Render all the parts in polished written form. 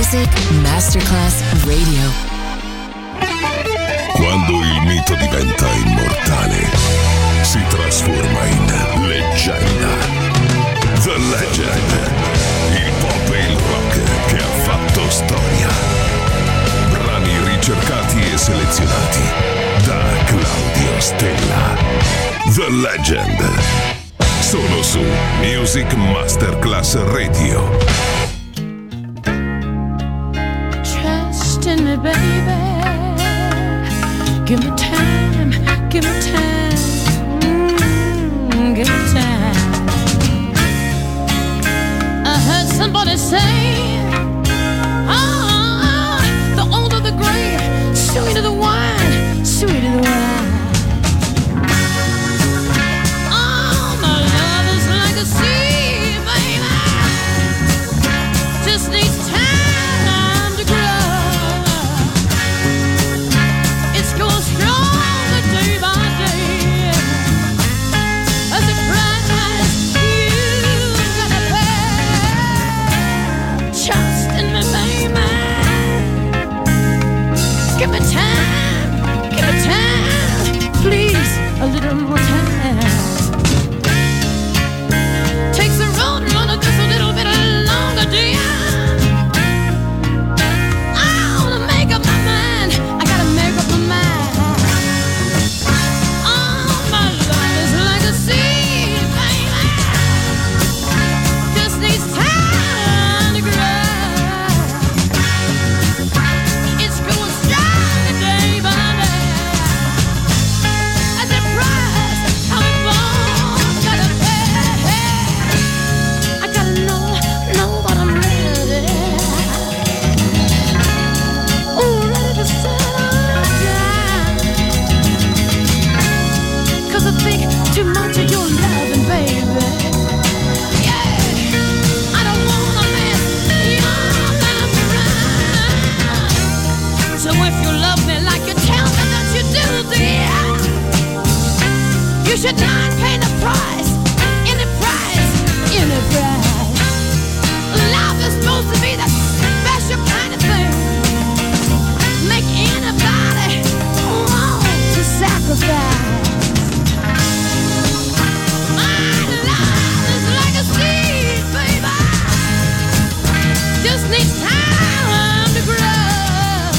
Music Masterclass Radio. Quando il mito diventa immortale, si trasforma in leggenda. The Legend, il pop e il rock che ha fatto storia. Brani ricercati e selezionati da Claudio Stella. The Legend, solo su Music Masterclass Radio. Trust in me, baby. Give me time, give me time, give me time. I heard somebody say, the older the grape, sweeter the wine, sweeter the wine. Oh, my love is like a sea, baby. Just needs time to grow. Stronger day by day. As the price you gotta pay. Trust in me, baby. Give me time, please, a little more time. Takes the road runner just a little bit longer, dear. I wanna make up my mind. I gotta make up my mind. Too much of your loving, baby. Yeah, I don't wanna mess your life around. So if you love me like you tell me that you do, dear, you should not pay the price, any price, any price. Love is supposed to be that special kind of thing. Make anybody want to sacrifice. Just needs time to grow.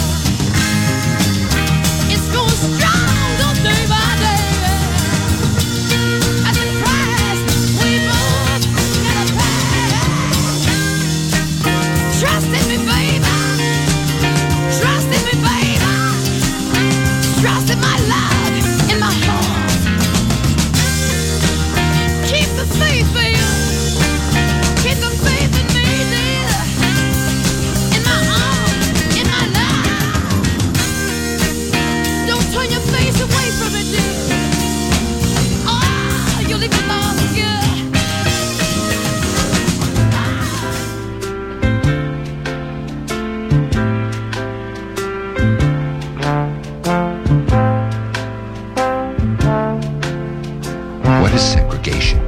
It's going stronger day by day. At the price we both gotta pay. Trust in me, baby. Trust in me, baby. Trust in my love, in my heart. Keep the faith, baby. Keep the faith in me, dear. Turn your face away from it, dear. Oh, you leave me alone, What is segregation?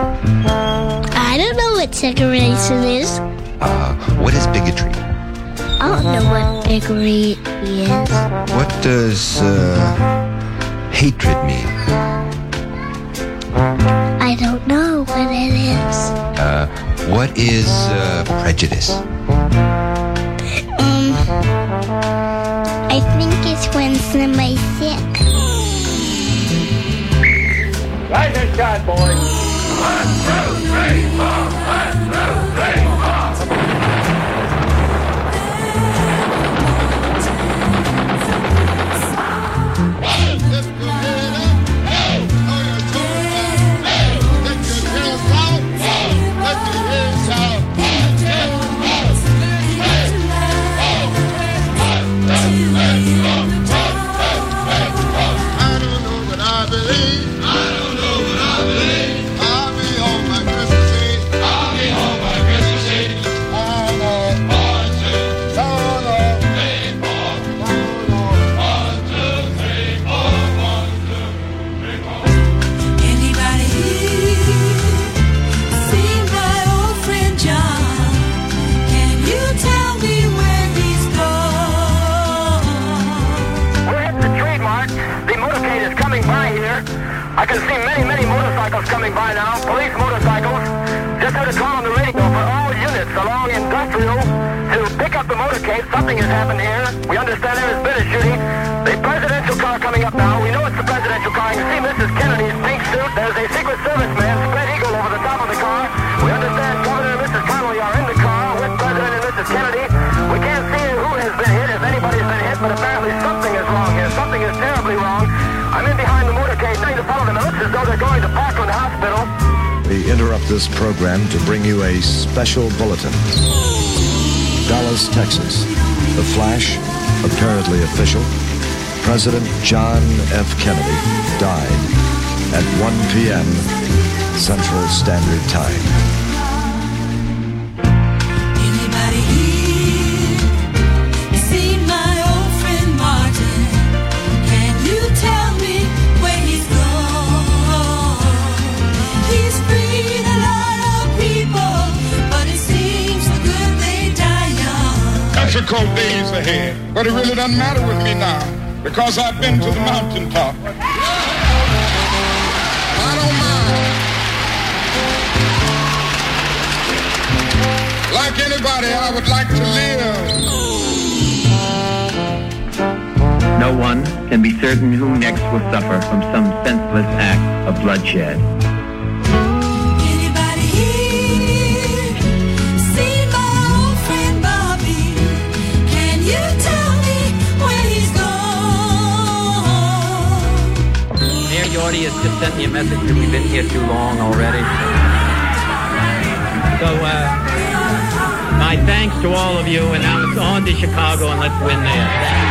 I don't know what segregation is. What is bigotry? I don't know what bigotry is. What does hatred mean? I don't know what it is. What is prejudice? I think it's when somebody's sick. Rise and shine, boys. 1, 2, 3, 4. 1, 2, 3, 4. I don't know what I believe. I'll be on my Christmas Eve. put a call on the radio for all units along Industrial to pick up the motorcade. Something has happened here. We understand there has been a shooting. The presidential car coming up now. We know it's the presidential car. You see Mrs. Kennedy's pink suit. There's a Secret Service man, spread eagle over the top of the car. We understand Governor and Mrs. Connolly are in the car with President and Mrs. Kennedy. We can't see who has been hit, if anybody's been hit, but apparently something is wrong here. Something is terribly wrong. I'm in behind the motorcade, trying to follow them. It looks as though they're going to Parkland Hospital. We interrupt this program to bring you a special bulletin. Dallas, Texas. The flash, apparently official. President John F. Kennedy died at 1 p.m. Central Standard Time. Anybody here see my old friend Martin? Can you tell me where he's gone? He's freed a lot of people, but it seems the good they die young. Got some cold days ahead, but it really doesn't matter with me now, because I've been to the mountaintop. I don't mind. Like anybody, I would like to live. No one can be certain who next will suffer from some senseless act of bloodshed. Anybody here see my old friend Bobby? Can you tell me where he's gone? Mayor Yorty has just sent me a message that we've been here too long already. So, my thanks to all of you, and now it's on to Chicago, and let's win there.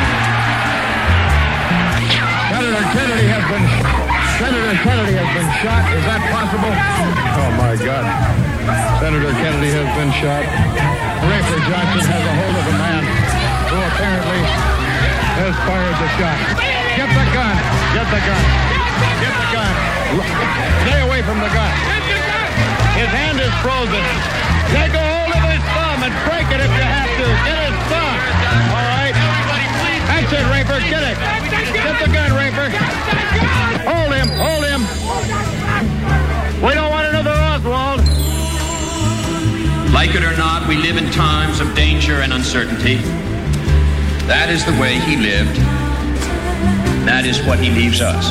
Senator Kennedy has been shot. Is that possible? Oh, my God. Senator Kennedy has been shot. Rafer Johnson has a hold of a man who apparently has fired the shot. Get the gun. Get the gun. Get the gun. Stay away from the gun. His hand is frozen. Take a hold of his thumb and break it if you have to. Get his thumb. All right? That's it, Rafer. Get it. Get the gun, Rafer. Hold him. Hold him. We don't want another Oswald. Like it or not, we live in times of danger and uncertainty. That is the way he lived. That is what he leaves us.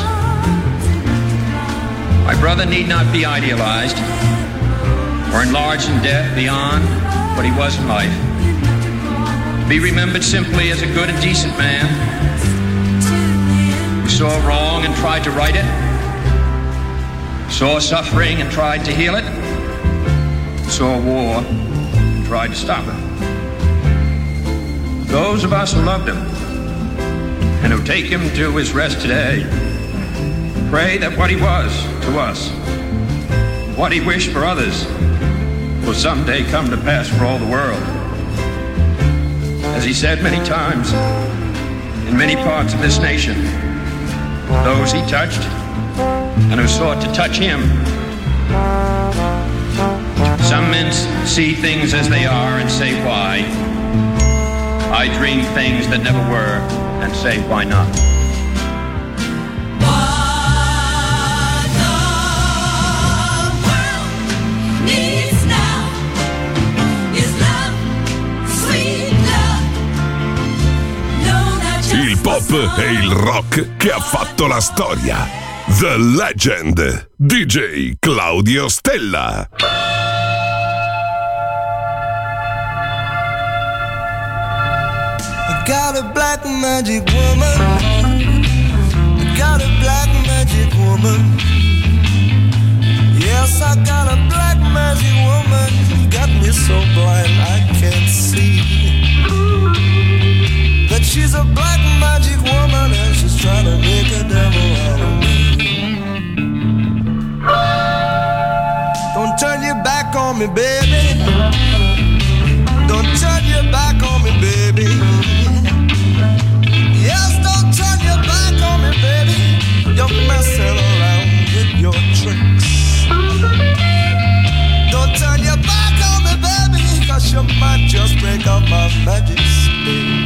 My brother need not be idealized or enlarged in death beyond what he was in life. Be remembered simply as a good and decent man who saw wrong and tried to right it, saw suffering and tried to heal it, saw war and tried to stop it. Those of us who loved him and who take him to his rest today, pray that what he was to us, what he wished for others, will someday come to pass for all the world. As he said many times, in many parts of this nation, those he touched and who sought to touch him. Some men see things as they are and say, why? I dream things that never were and say, why not? Il pop e il rock che ha fatto la storia. The Legend, DJ Claudio Stella. I got a black magic woman. I got a black magic woman. Yes, I got a black magic woman. Got me so blind I can't see that she's a black magic woman and she's trying to make a devil out of me. Don't turn your back on me, baby. Don't turn your back on me, baby. Yes, don't turn your back on me, baby. You're messing around with your tricks. Don't turn your back on me, baby, 'cause you might just break up my magic stick.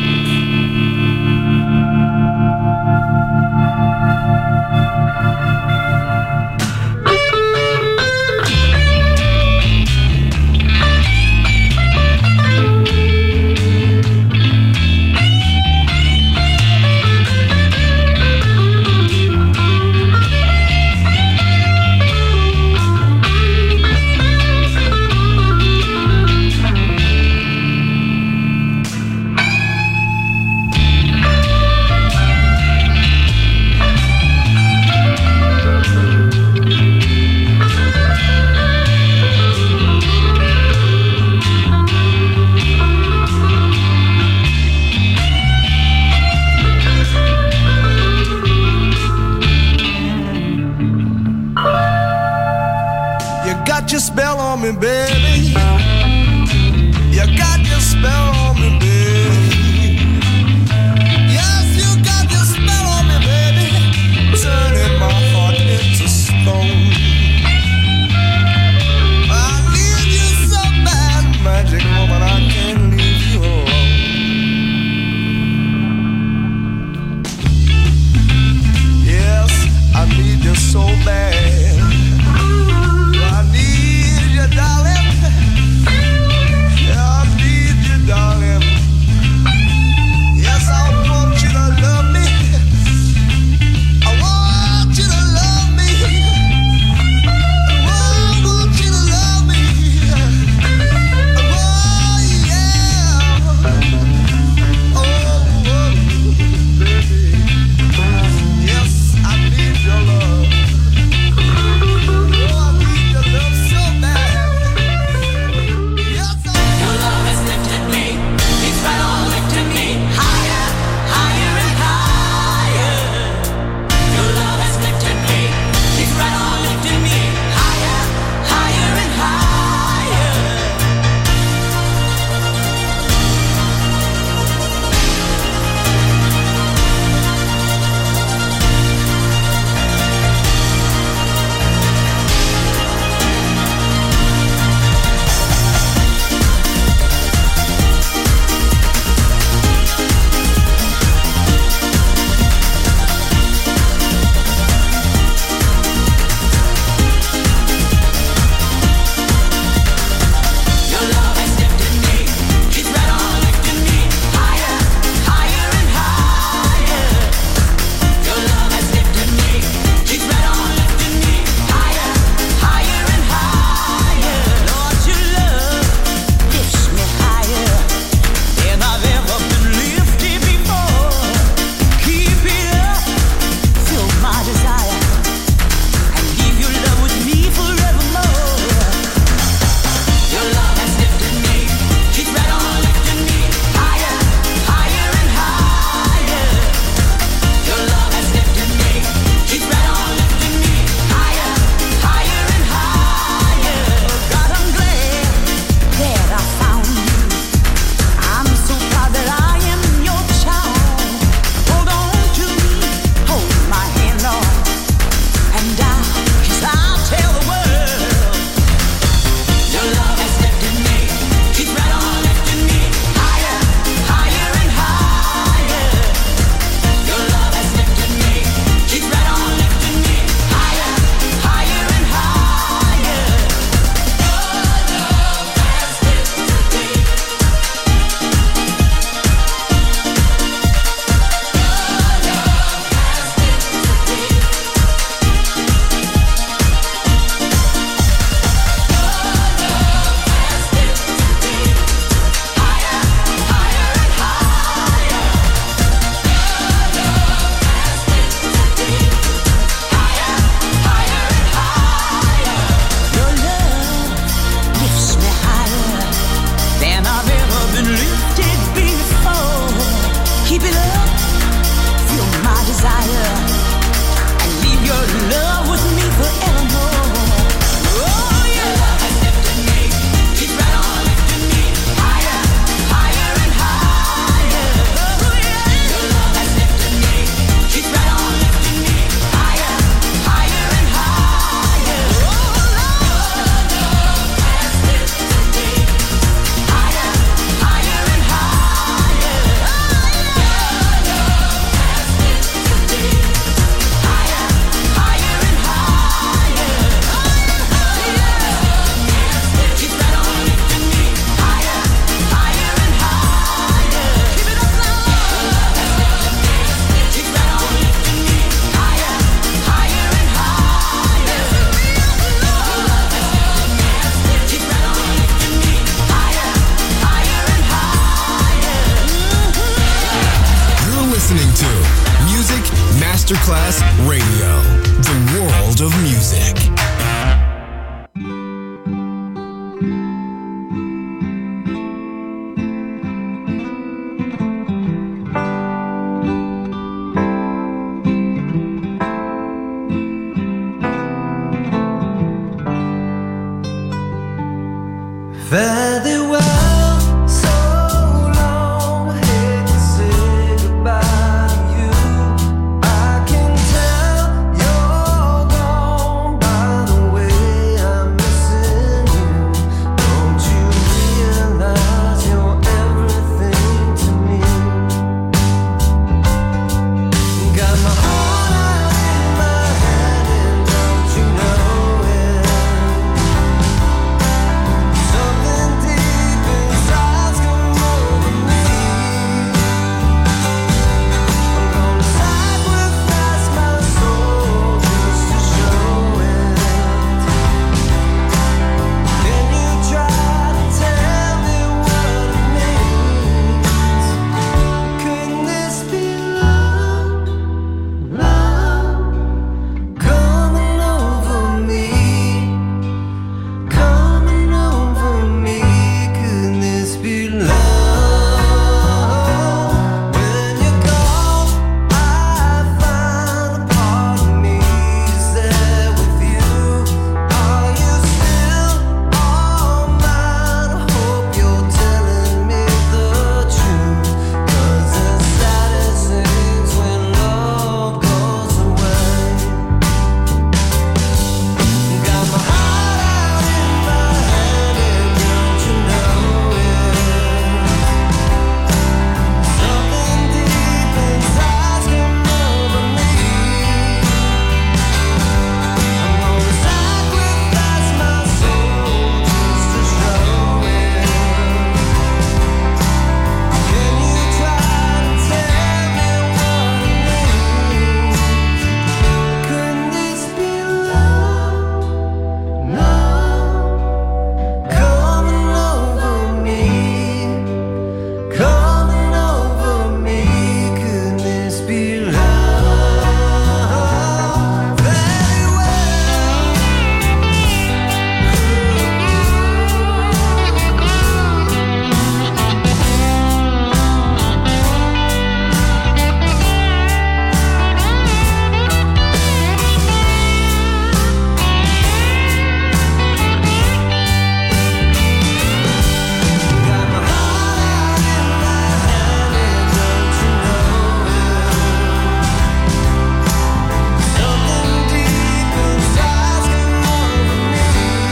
Masterclass Radio, the world of music. Fare thee well, so long, I hate to say goodbye to you. I can tell you're gone by the way I'm missing you. Don't you realize you're everything to me? Got my heart out in my hand and don't you know it? Something deep inside's come over me. I'm gonna sacrifice my soul just to show it. Can you try to tell me what it means? Couldn't this be love, love coming over me? Coming over me, could this be love? When you're gone, I find a part of me is there with you. Are you still on mine? I hope you're telling me the truth. 'Cause the saddest things when love goes away. Got my heart out in my hand and don't you know it? Something deep inside's come over me. I'm gonna sacrifice my soul just to show it. Can you try to tell me what it means? Couldn't this be love, love coming over me? Coming over me, could this be love? Very Got my heart out in my hand and don't you know it? Something deep inside's come over me.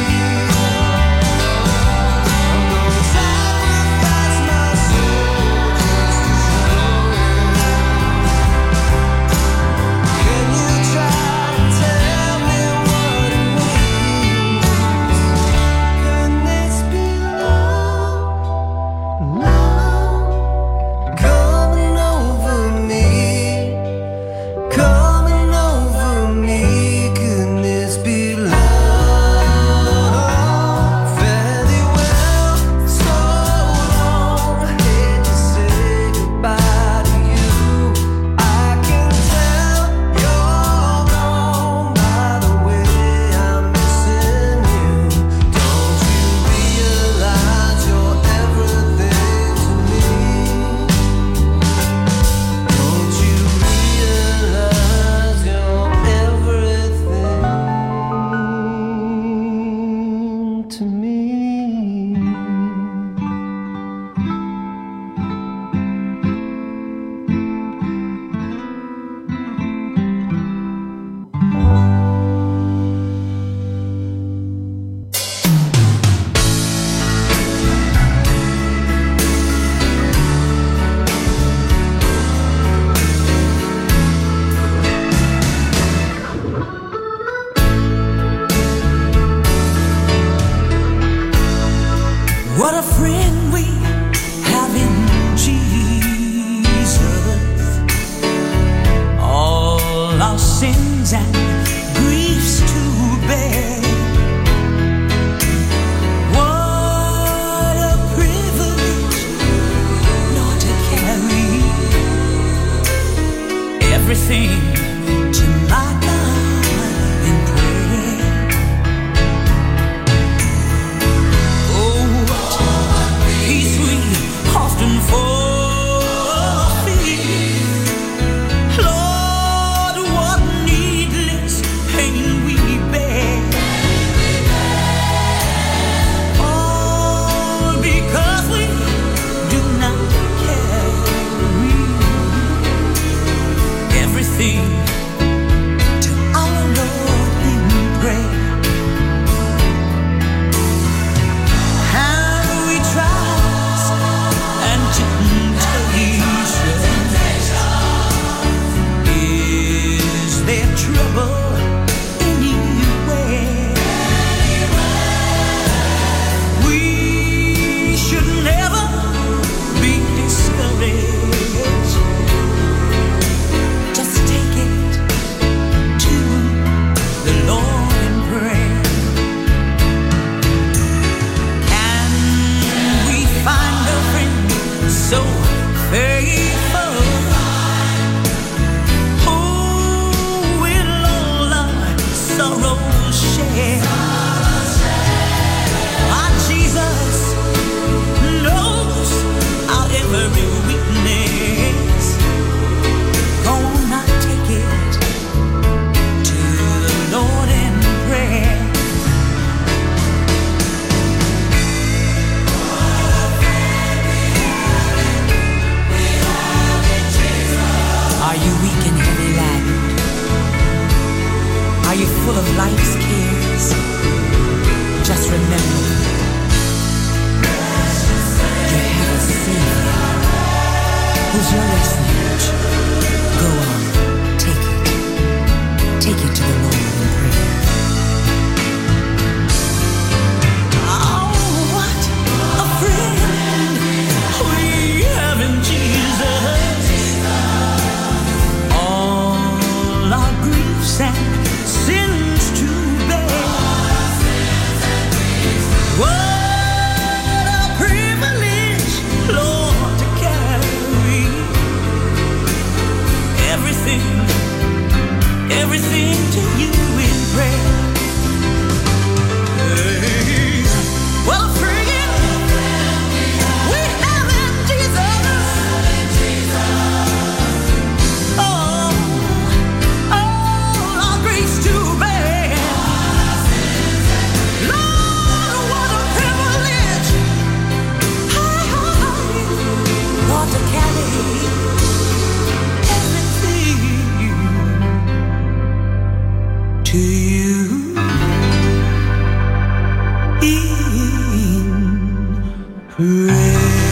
I'm gonna sacrifice my soul just to show it. Can you try to tell me what it means? Couldn't this be love, love coming over me? Coming over me, couldn't this be love? Fare thee well, so long, I hate to say goodbye to you. I can tell you're gone by the way I'm missing you. Don't you realize you're everything to me? Don't you realize you're everything to me? What a friend we have in Jesus. All our sins and griefs to bear. What a privilege, Lord, to carry everything life's cares. Just remember, you have a Savior who's your refuge. Go on, take it to the Lord in prayer. Oh, what a friend we have in Jesus. All our griefs and sins to bear. What a privilege, Lord, to carry everything to you in prayer. Hey. Well, a friend we have in Jesus. Oh, all our griefs to bear. Lord, what a privilege, Lord, to carry to you in prayer.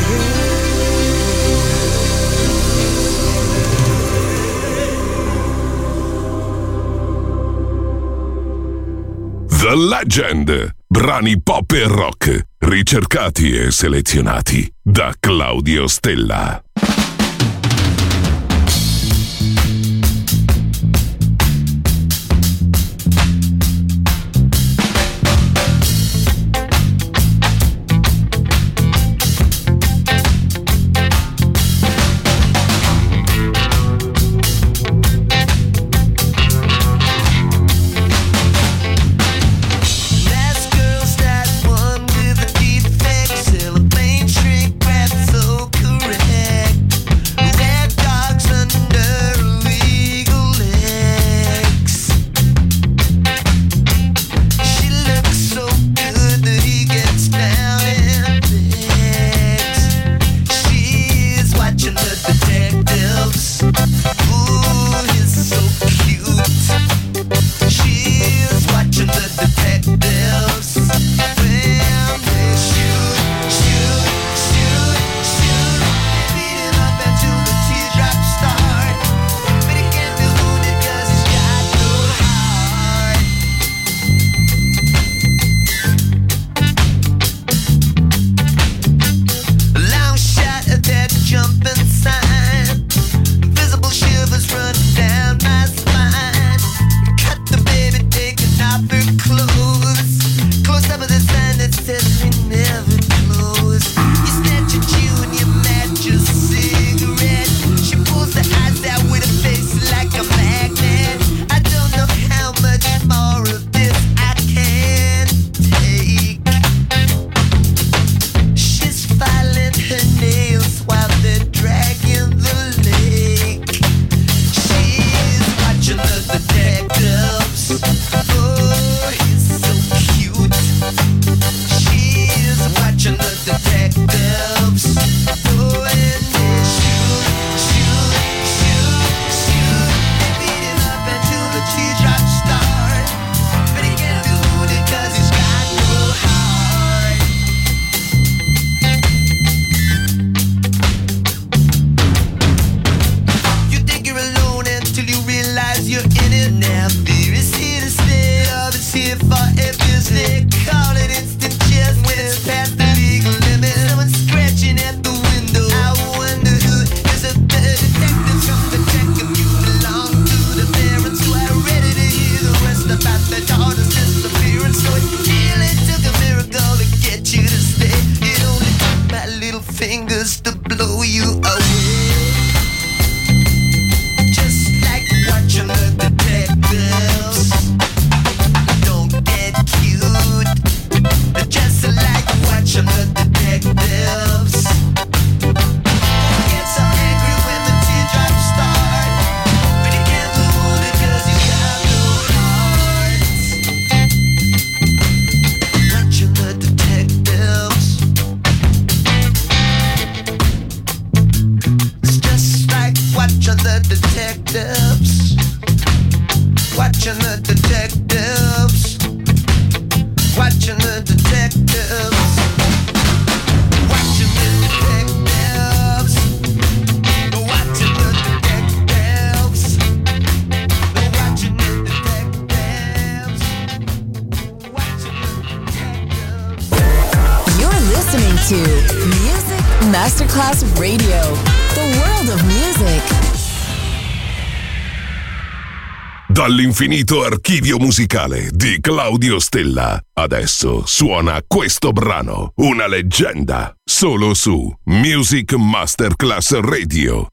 The Legend, brani pop e rock, ricercati e selezionati da Claudio Stella. One with a defect, cellophane shrink wrap so correct. Music Masterclass Radio. The world of music. Dall'infinito archivio musicale di Claudio Stella. Adesso suona questo brano, una leggenda, solo su Music Masterclass Radio.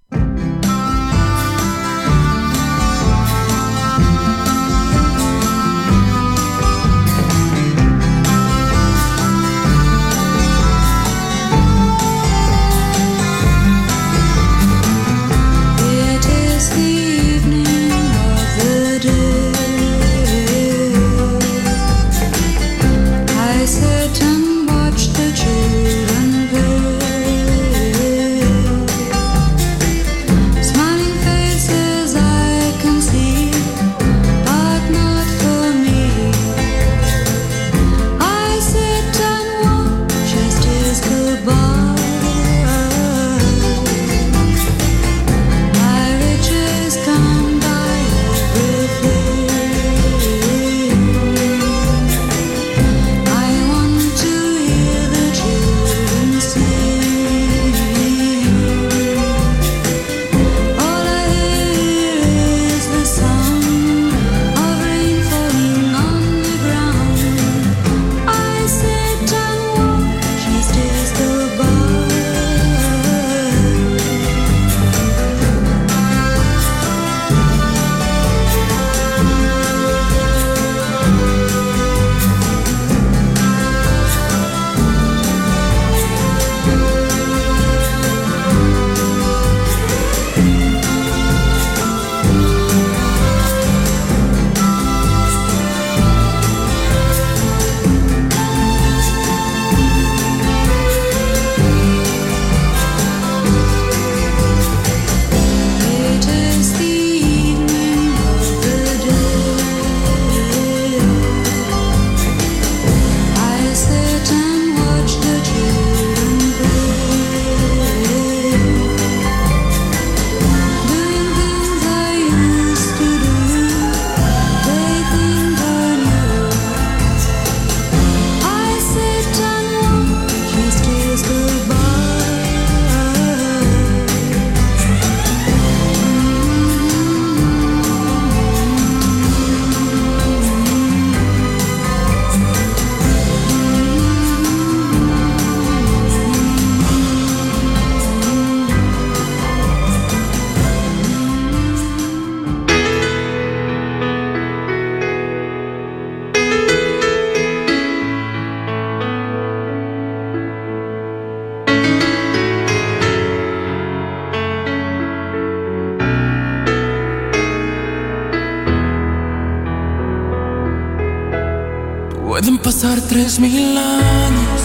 Pueden pasar 3000 años,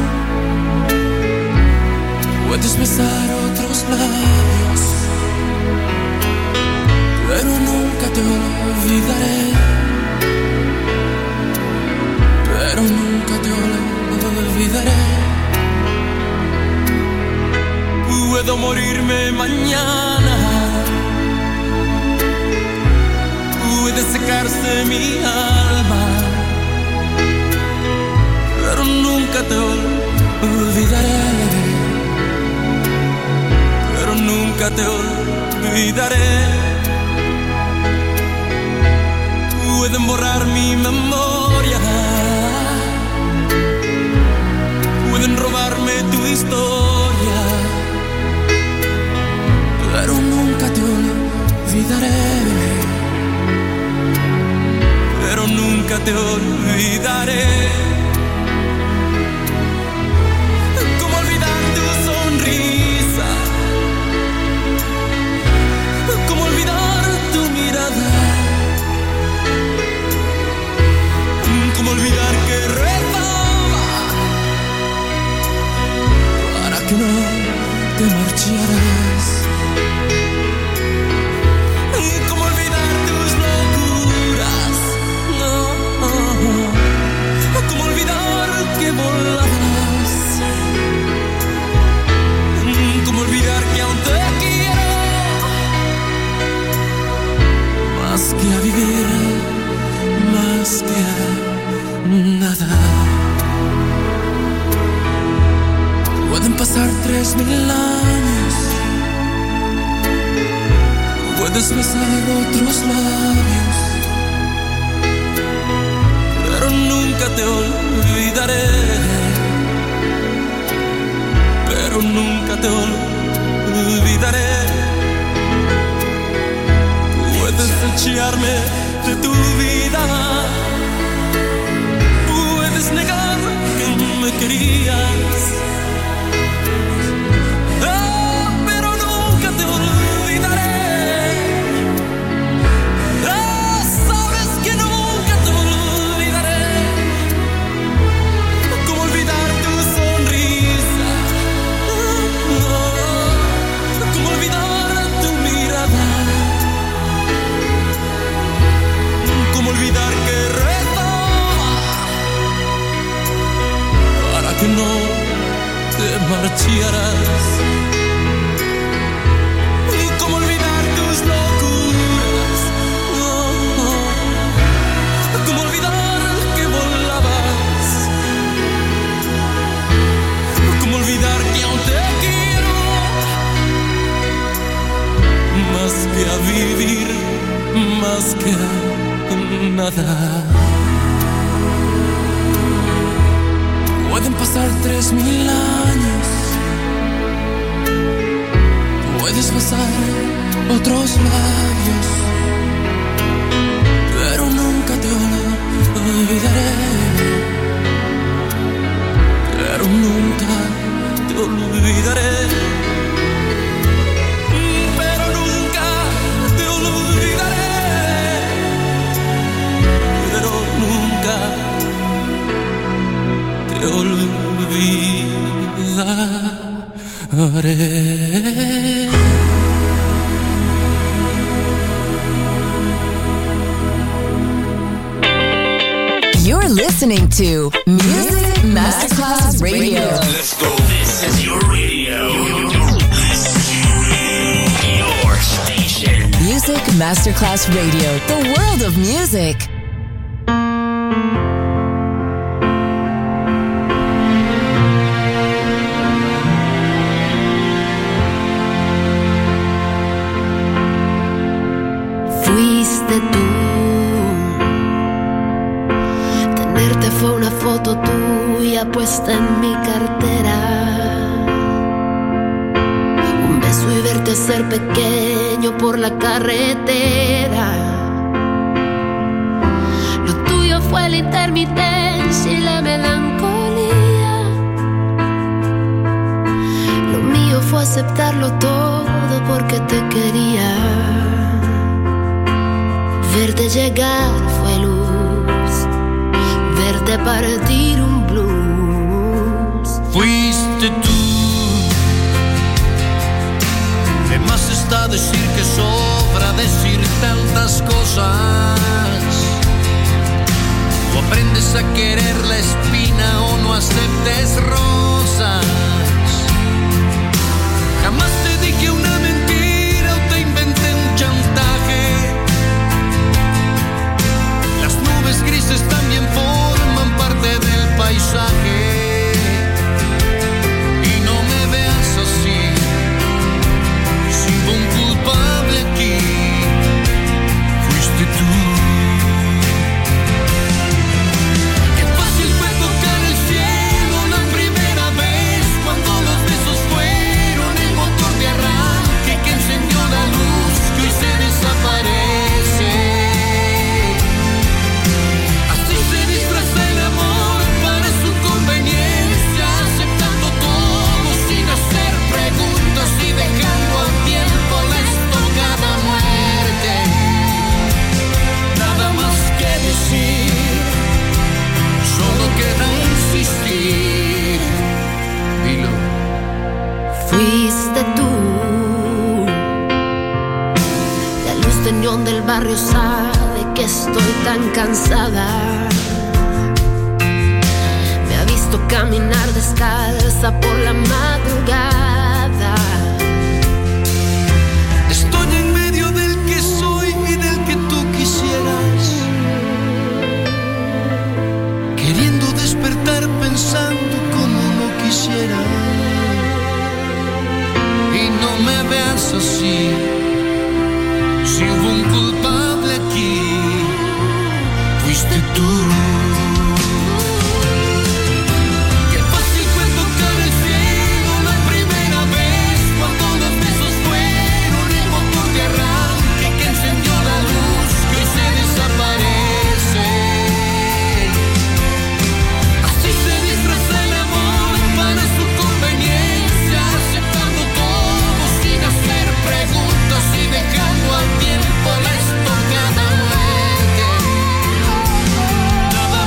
puedes besar otros labios, pero nunca te olvidaré, pero nunca te olvidaré. Puedo morirme mañana, puede secarse mi alma, pero nunca te olvidaré, pero nunca te olvidaré. Pueden borrar mi memoria, pueden robarme tu historia, pero nunca te olvidaré, pero nunca te olvidaré. ¿Cómo olvidar tu sonrisa? ¿Cómo olvidar tu mirada? ¿Cómo olvidar que rezaba para que no te marcharas? ¿Cómo olvidar tus locuras? No. ¿Cómo olvidar que volabas? ¿Cómo olvidar que aún te quiero más que a vivir, más que a nada? pasar 3000 años, puedes besar otros labios, pero nunca te olvidaré, pero nunca te olvidaré. Puedes echarme de tu vida, puedes negar que me querías, pero nunca te olvidaré. Sabes que nunca te olvidaré. ¿Cómo olvidar tu sonrisa? ¿Cómo olvidar tu mirada? ¿Cómo olvidar que rezaba para que no te marcharas? ¿Cómo olvidar tus locuras? ¿Cómo olvidar que volabas? ¿Cómo olvidar que aún te quiero más que a vivir, más que a nada? Pueden pasar 3000 años, puedes besar otros labios, pero nunca te olvidaré, pero nunca te olvidaré. Pero nunca te olvidaré, pero nunca te olvidaré. You're listening to Music Masterclass Radio. Let's go. This is your radio. Your station. Music Masterclass Radio. The world of music. Fuiste tú. Tenerte fue una foto tuya puesta en mi cartera. Un beso y verte ser pequeño por la carretera. Lo tuyo fue la intermitencia y la melancolía. Lo mío fue aceptarlo todo porque te quería. Verte llegar fue luz, verte partir un blues. Fuiste tú. De más está decir que sobra decir tantas cosas. O aprendes a querer la espina o no aceptes rosas. Jamás te dije una mentira o te inventé un chantaje. Las nubes grises también forman parte del paisaje. Y no me veas así, sin un culpable aquí. Fuiste tú. Qué fácil fue tocar el cielo la primera vez, cuando los besos fueron el motor de arranque que encendió la luz que hoy se desaparece. Así se disfraza el amor para su conveniencia, aceptando todo sin hacer preguntas y dejando al tiempo la estocada muerte. Nada más que decir, solo queda insistir. Dilo. Fuiste tú. La luz de neón del barrio sabe que estoy tan cansada. Me ha visto caminar descalza por la madrugada. Estoy en medio del que soy y del que tú quisieras, queriendo despertar pensando como no quisiera. así. Si hubo un culpable aquí, fuiste tú. Que pase el cuento cara al cielo la primera vez, cuando los besos fueron el motor de arranque que encendió la luz que hoy se desaparece. Así se disfraza el amor para su conveniencia, aceptando todo sin hacer preguntas y dejando al tiempo la estocada muerte. Nada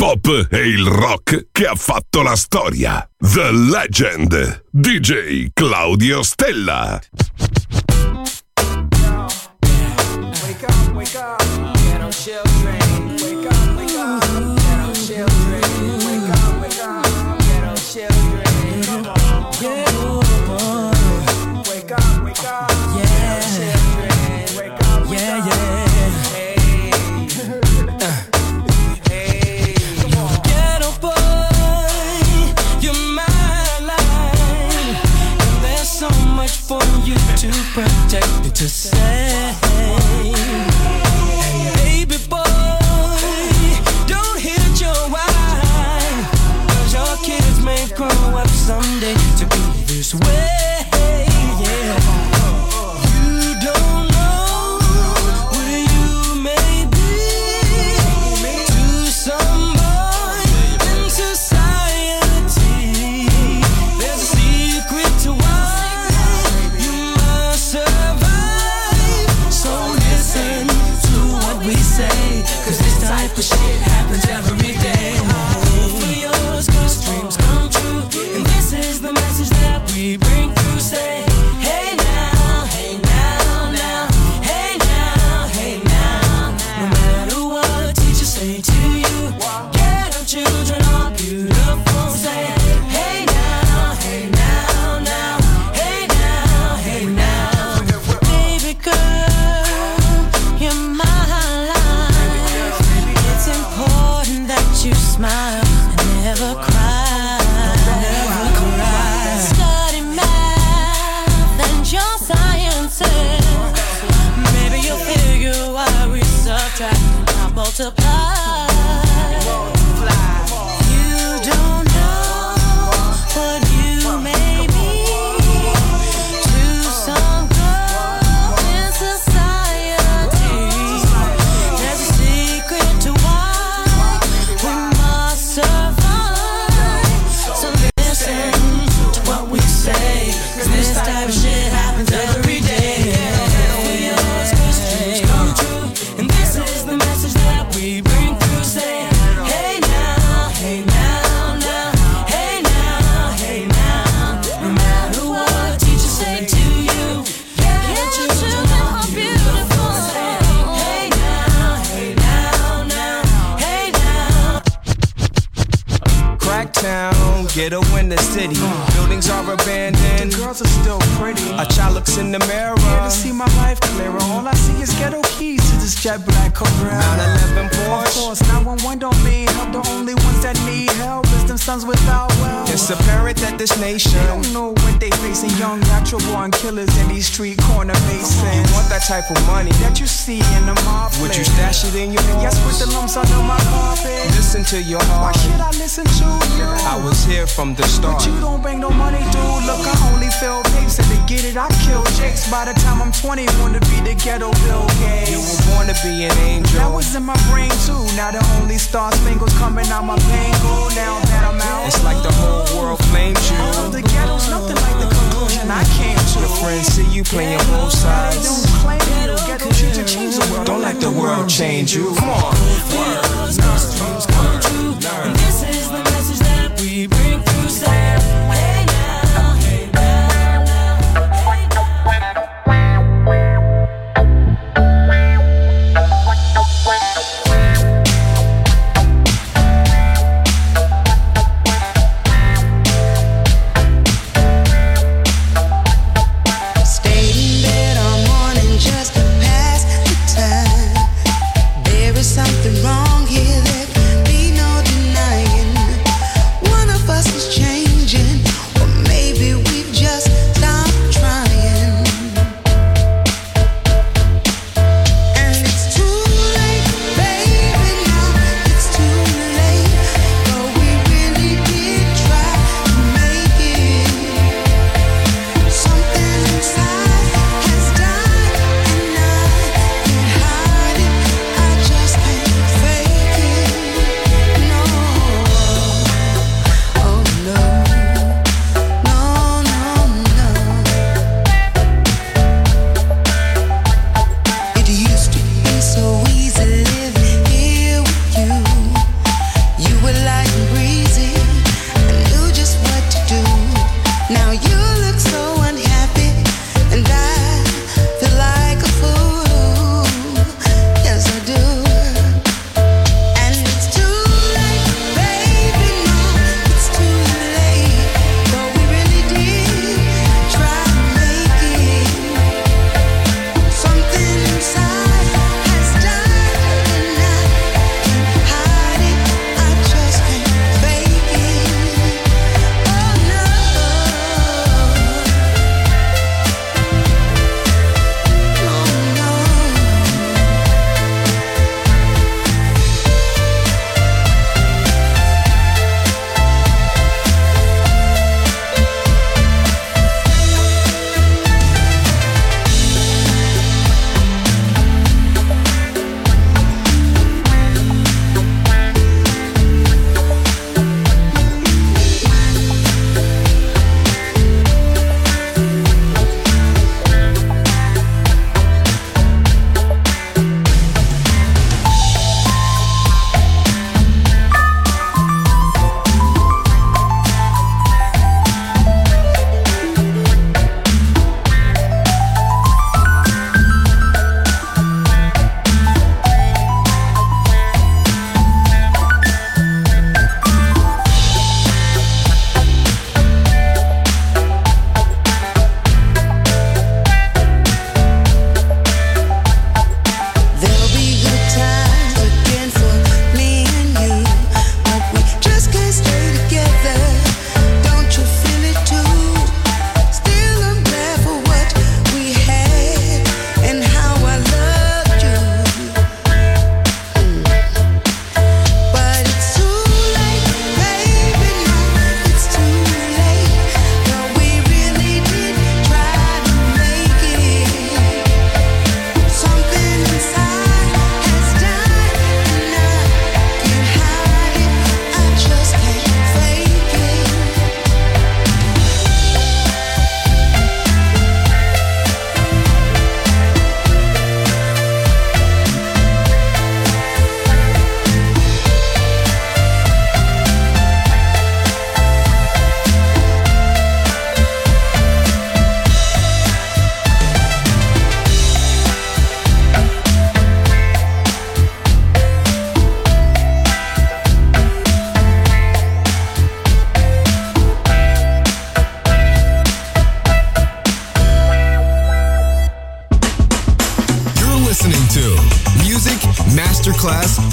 pop e il rock che ha fatto la storia. The Legend, DJ Claudio Stella. Wake up, wake up, ghetto children. Wake up, wake up, ghetto children. Wake up, wake up, ghetto children. Come on, yeah. Wake up, wake up, yeah. Ghetto children. Wake up, wake up. Hey, hey, come on. Ghetto boy, you're my life, and there's so much for you to protect and to say. Baby boy, don't hit your wife, 'cause your kids may grow up someday to be this way, yeah. You don't know where you may be to some boy in society. There's a secret to why you must survive. So listen to what we say, 'cause this type of shit happens every day. Hope for yours, 'cause dreams come true, and this is the message that we bring through. Say, hey now, hey now, now, hey now, hey now. No matter what teachers say to you, get our children all beautiful. Say, hey now, hey now, now, hey now, hey now. Baby girl, you're my life. It's important that you smile and never cry. Never cry. Study math and your sciences. Maybe you'll figure why we subtract and multiply. You don't know what you may be to some girl in society. There's a secret to why we must survive. So listen to what we say, 'cause this type of shit happens every day. For yours, 'cause dreams come true, and this is the message that we bring through. Say, hey now, hey now, now, hey now, hey now. No matter what teachers say to you, get your children all beautiful. Say, hey now, hey now, now, hey now. Cracktown, ghetto in the city. Buildings are abandoned. The girls are still pretty. A child looks in the mirror. Yeah, to see my life clearer. All I see is ghetto keys to this jet black Cobra. 911 Porsche. Of course, 911 don't need help. The only ones that need help is them sons without wealth. It's apparent that this nation, they don't know what they facing. Young natural born killers in these street corner basins. You want that type of money that you see in the mob. Would you stash it in your home? Yes, with the lumps under my carpet. Listen to your heart. Why should I listen to you? I was here from the start. But you don't bring no money, dude. Look, I only fill tapes, and to get it, I kill Jakes. By the time I'm 20, wanna be the ghetto Bill Gates. You were born to be an angel. That was in my brain too. Now the only star spangles coming out my pangle. Now that I'm out, it's like the whole world flames you. All the ghetto's nothing like the conclusion I came to. Your friends see you playing both sides. Don't claim you. Ghetto should change the world. Don't let the world change you. Come on. Dreams come true, and this is the message that we bring through. Say, hey now, hey now, now, hey now. Stayed in bed all morning just to pass the time. There is something wrong here, there can be no denying.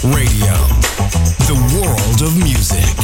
Radio, the world of music.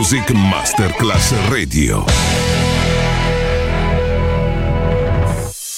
Music Masterclass Radio.